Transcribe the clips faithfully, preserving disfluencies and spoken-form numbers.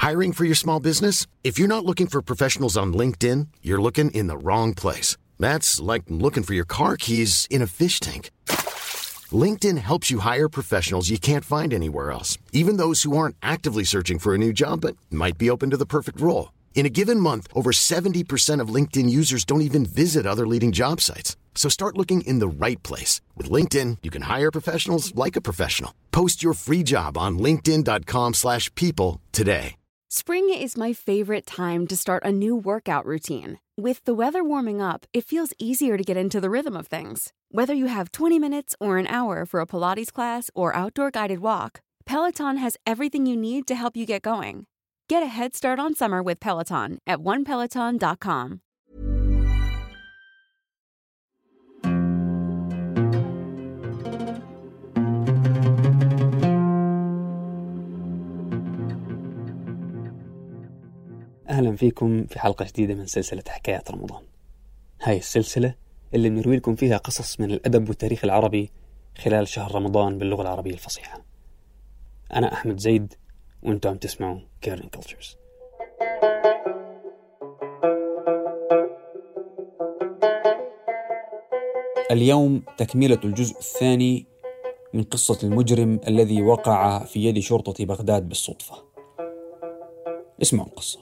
Hiring for your small business? If you're not looking for professionals on LinkedIn, you're looking in the wrong place. That's like looking for your car keys in a fish tank. LinkedIn helps you hire professionals you can't find anywhere else, even those who aren't actively searching for a new job but might be open to the perfect role. In a given month, over seventy percent of LinkedIn users don't even visit other leading job sites. So start looking in the right place. With LinkedIn, you can hire professionals like a professional. Post your free job on linkedin.com slash people today. Spring is my favorite time to start a new workout routine. With the weather warming up, it feels easier to get into the rhythm of things. Whether you have twenty minutes or an hour for a Pilates class or outdoor guided walk, Peloton has everything you need to help you get going. Get a head start on summer with Peloton at one peloton dot com. أهلا فيكم في حلقة جديدة من سلسلة حكايات رمضان. هاي السلسلة اللي بنروي لكم فيها قصص من الأدب والتاريخ العربي خلال شهر رمضان باللغة العربية الفصيحة. أنا أحمد زيد وأنتم عم تسمعوا كيرن كولتشرز. اليوم تكملة الجزء الثاني من قصة المجرم الذي وقع في يد شرطة بغداد بالصدفة. اسمعوا القصة.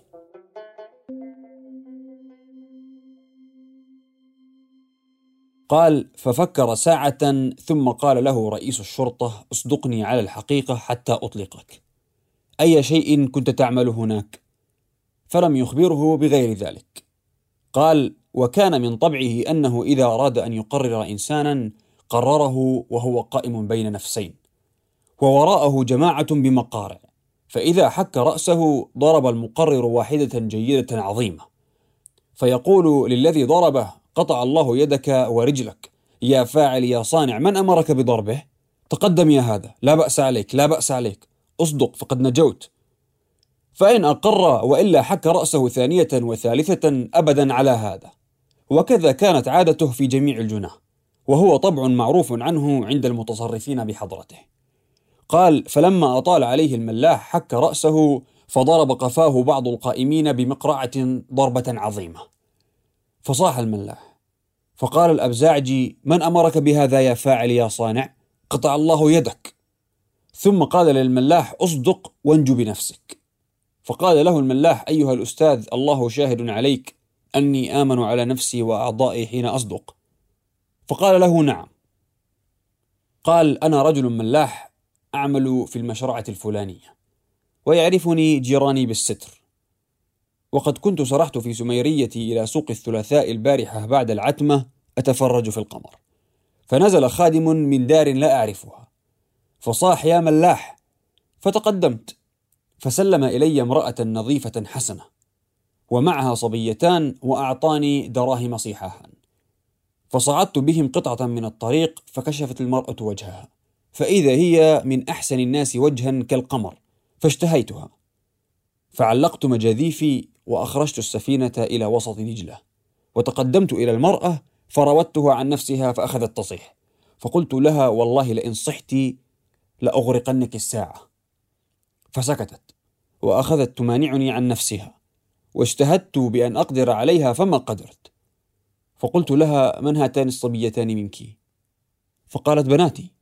قال: ففكر ساعة ثم قال له رئيس الشرطة: اصدقني على الحقيقة حتى أطلقك. أي شيء كنت تعمل هناك؟ فلم يخبره بغير ذلك. قال: وكان من طبعه أنه إذا أراد أن يقرر إنسانا قرره وهو قائم بين نفسين، ووراءه جماعة بمقارع، فإذا حك رأسه ضرب المقرر واحدة جيدة عظيمة، فيقول للذي ضربه: قطع الله يدك ورجلك، يا فاعل يا صانع، من أمرك بضربه؟ تقدم يا هذا، لا بأس عليك لا بأس عليك، أصدق فقد نجوت. فإن أقر وإلا حك رأسه ثانية وثالثة أبدا على هذا. وكذا كانت عادته في جميع الجناه، وهو طبع معروف عنه عند المتصرفين بحضرته. قال: فلما أطال عليه الملاح حك رأسه فضرب قفاه بعض القائمين بمقرعة ضربة عظيمة، فصاح الملاح، فقال الأبزاعجي: من أمرك بهذا يا فاعل يا صانع؟ قطع الله يدك. ثم قال للملاح: أصدق وانجو بنفسك. فقال له الملاح: أيها الأستاذ، الله شاهد عليك أني آمن على نفسي وأعضائي حين أصدق. فقال له: نعم. قال: أنا رجل ملاح أعمل في المشرعة الفلانية، ويعرفني جيراني بالستر، وقد كنت سرحت في سميريتي إلى سوق الثلاثاء البارحة بعد العتمة أتفرج في القمر، فنزل خادم من دار لا أعرفها فصاح: يا ملاح. فتقدمت فسلم إلي امرأة نظيفة حسنة ومعها صبيتان، وأعطاني دراهم صحاحا، فصعدت بهم قطعة من الطريق، فكشفت المرأة وجهها، فإذا هي من أحسن الناس وجها كالقمر، فاشتهيتها، فعلقت مجاذيفي وأخرجت السفينة إلى وسط دجلة، وتقدمت إلى المرأة فراودتها عن نفسها فأخذت تصيح، فقلت لها: والله لئن صحت لأغرقنك الساعة. فسكتت وأخذت تمانعني عن نفسها، واجتهدت بأن أقدر عليها فما قدرت، فقلت لها: من هاتان الصبيتان منك؟ فقالت: بناتي.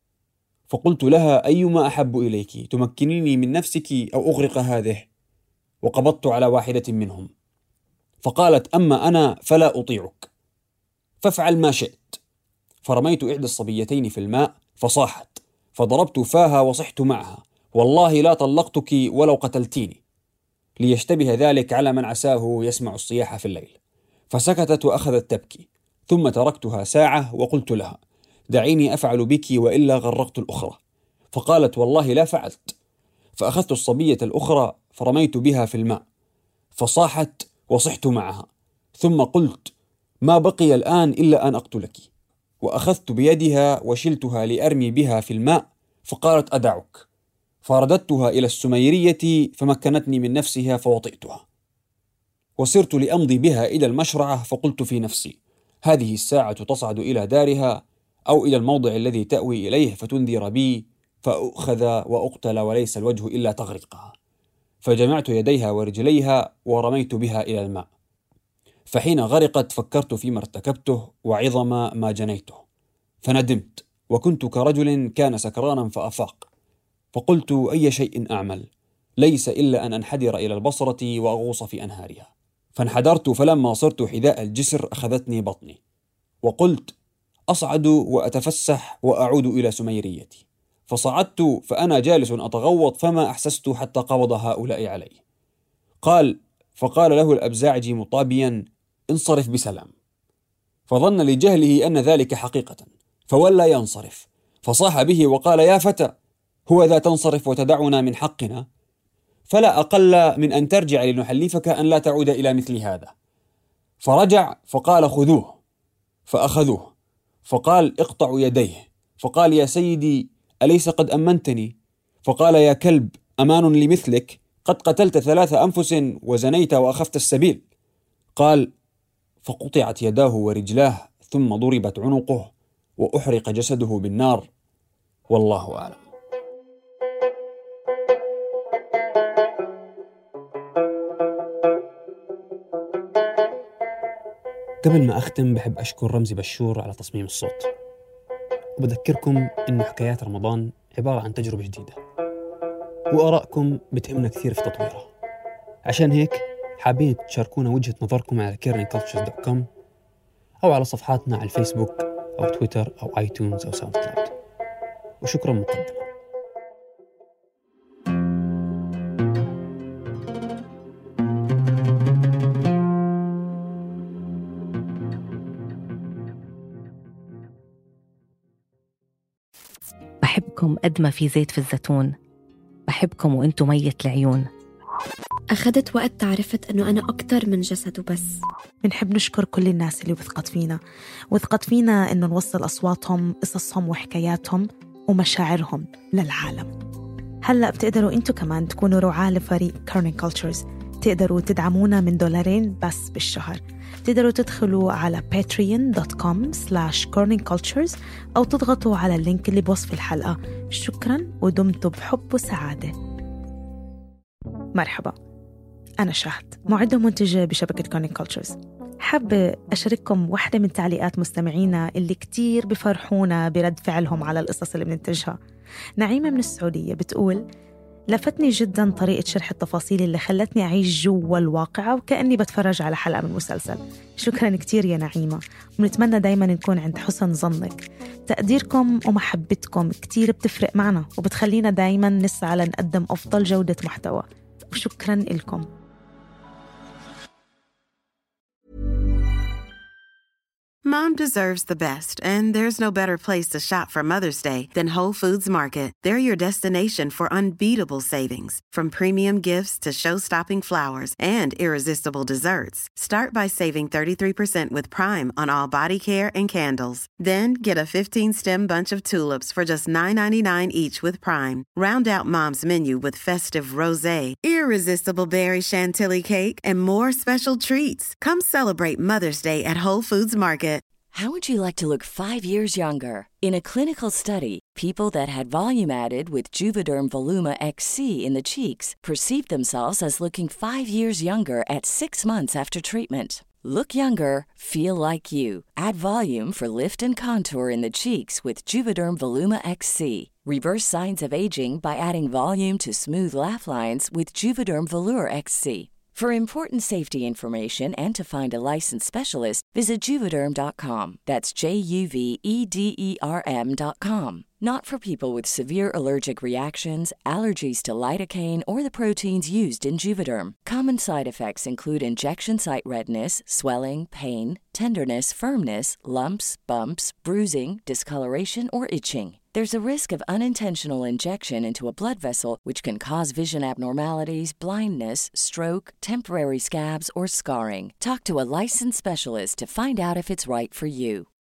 فقلت لها: أيما أحب إليك، تمكنيني من نفسك أو أغرق هذه؟ وقبضت على واحدة منهم، فقالت: أما أنا فلا أطيعك، فافعل ما شئت. فرميت إحدى الصبيتين في الماء فصاحت، فضربت فاها وصحت معها: والله لا طلقتك ولو قتلتيني، ليشتبه ذلك على من عساه يسمع الصياح في الليل. فسكتت وأخذت تبكي، ثم تركتها ساعة وقلت لها: دعيني أفعل بك وإلا غرقت الأخرى. فقالت: والله لا فعلت. فأخذت الصبية الأخرى فرميت بها في الماء فصاحت وصحت معها، ثم قلت: ما بقي الآن إلا أن أقتلك. وأخذت بيدها وشلتها لأرمي بها في الماء، فقالت: أدعك. فرددتها إلى السميرية فمكنتني من نفسها فوطئتها، وصرت لأمضي بها إلى المشرعة، فقلت في نفسي: هذه الساعة تصعد إلى دارها أو إلى الموضع الذي تأوي إليه فتنذر بي فأخذ وأقتل، وليس الوجه إلا تغرقها. فجمعت يديها ورجليها ورميت بها إلى الماء. فحين غرقت فكرت فيما ارتكبته وعظم ما جنيته، فندمت، وكنت كرجل كان سكرانا فأفاق، فقلت أي شيء أعمل، ليس إلا أن أنحدر إلى البصرة وأغوص في أنهارها. فانحدرت، فلما صرت حذاء الجسر أخذتني بطني، وقلت أصعد وأتفسح وأعود إلى سميريتي. فصعدت فأنا جالس أتغوط، فما أحسست حتى قبض هؤلاء علي. قال فقال له الأبزاعجي مطابيا: انصرف بسلام. فظن لجهله أن ذلك حقيقة، فولى ينصرف، فصاح به وقال: يا فتى، هو ذا تنصرف وتدعنا من حقنا؟ فلا أقل من أن ترجع لنحلفك أن لا تعود إلى مثل هذا. فرجع فقال: خذوه. فأخذوه، فقال: اقطعوا يديه. فقال: يا سيدي، أليس قد أمنتني؟ فقال: يا كلب، أمان لمثلك؟ قد قتلت ثلاث أنفس وزنيت وأخفت السبيل. قال: فقطعت يداه ورجلاه، ثم ضربت عنقه وأحرق جسده بالنار، والله أعلم. قبل ما أختم بحب أشكر رمزي بشور على تصميم الصوت، وبذكركم إنه حكايات رمضان عبارة عن تجربة جديدة، وآرائكم بتهمنا كثير في تطويرها. عشان هيك حابين تشاركونا وجهة نظركم على كيرنينج كولتشرز دوت كوم أو على صفحاتنا على الفيسبوك أو تويتر أو آيتونز أو ساوند كلاود. وشكرا مقدما. بحبكم قد ما في زيت في الزيتون، بحبكم وانتو مية العيون. أخذت وقت تعرفت أنه أنا أكتر من جسد وبس. بنحب نشكر كل الناس اللي وثقت فينا وثقت فينا إنه نوصل أصواتهم، قصصهم وحكاياتهم ومشاعرهم للعالم. هلأ بتقدروا انتو كمان تكونوا رعاة لفريق كيرنينج كولتشرز، تقدروا تدعمونا من دولارين بس بالشهر. تقدروا تدخلوا على patreon دوت كوم سلاش كيرنينج كولتشرز أو تضغطوا على اللينك اللي بوصف الحلقة. شكراً ودمتم بحب وسعادة. مرحبا، أنا شهد، معدة ومنتجة بشبكة كيرنينج كولتشرز. حابة أشارككم واحدة من تعليقات مستمعينا اللي كتير بفرحونا برد فعلهم على القصص اللي بننتجها. نعيمة من السعودية بتقول: لفتني جداً طريقة شرح التفاصيل اللي خلتني أعيش جوا الواقعة وكأني بتفرج على حلقة من مسلسل. شكراً كتير يا نعيمة، ونتمنى دايماً نكون عند حسن ظنك. تقديركم ومحبتكم كتير بتفرق معنا وبتخلينا دايماً نسعى لنقدم أفضل جودة محتوى، وشكراً لكم. Mom deserves the best, and there's no better place to shop for Mother's Day than Whole Foods Market. They're your destination for unbeatable savings, from premium gifts to show-stopping flowers and irresistible desserts. Start by saving thirty-three percent with Prime on all body care and candles. Then get a fifteen-stem bunch of tulips for just nine ninety-nine each with Prime. Round out Mom's menu with festive rosé, irresistible berry chantilly cake, and more special treats. Come celebrate Mother's Day at Whole Foods Market. How would you like to look five years younger? In a clinical study, people that had volume added with Juvederm Voluma X C in the cheeks perceived themselves as looking five years younger at six months after treatment. Look younger, feel like you. Add volume for lift and contour in the cheeks with Juvederm Voluma X C. Reverse signs of aging by adding volume to smooth laugh lines with Juvederm Volure X C. For important safety information and to find a licensed specialist, visit Juvederm dot com. That's J U V E D E R M dot com. Not for people with severe allergic reactions, allergies to lidocaine, or the proteins used in Juvederm. Common side effects include injection site redness, swelling, pain, tenderness, firmness, lumps, bumps, bruising, discoloration, or itching. There's a risk of unintentional injection into a blood vessel, which can cause vision abnormalities, blindness, stroke, temporary scabs, or scarring. Talk to a licensed specialist to find out if it's right for you.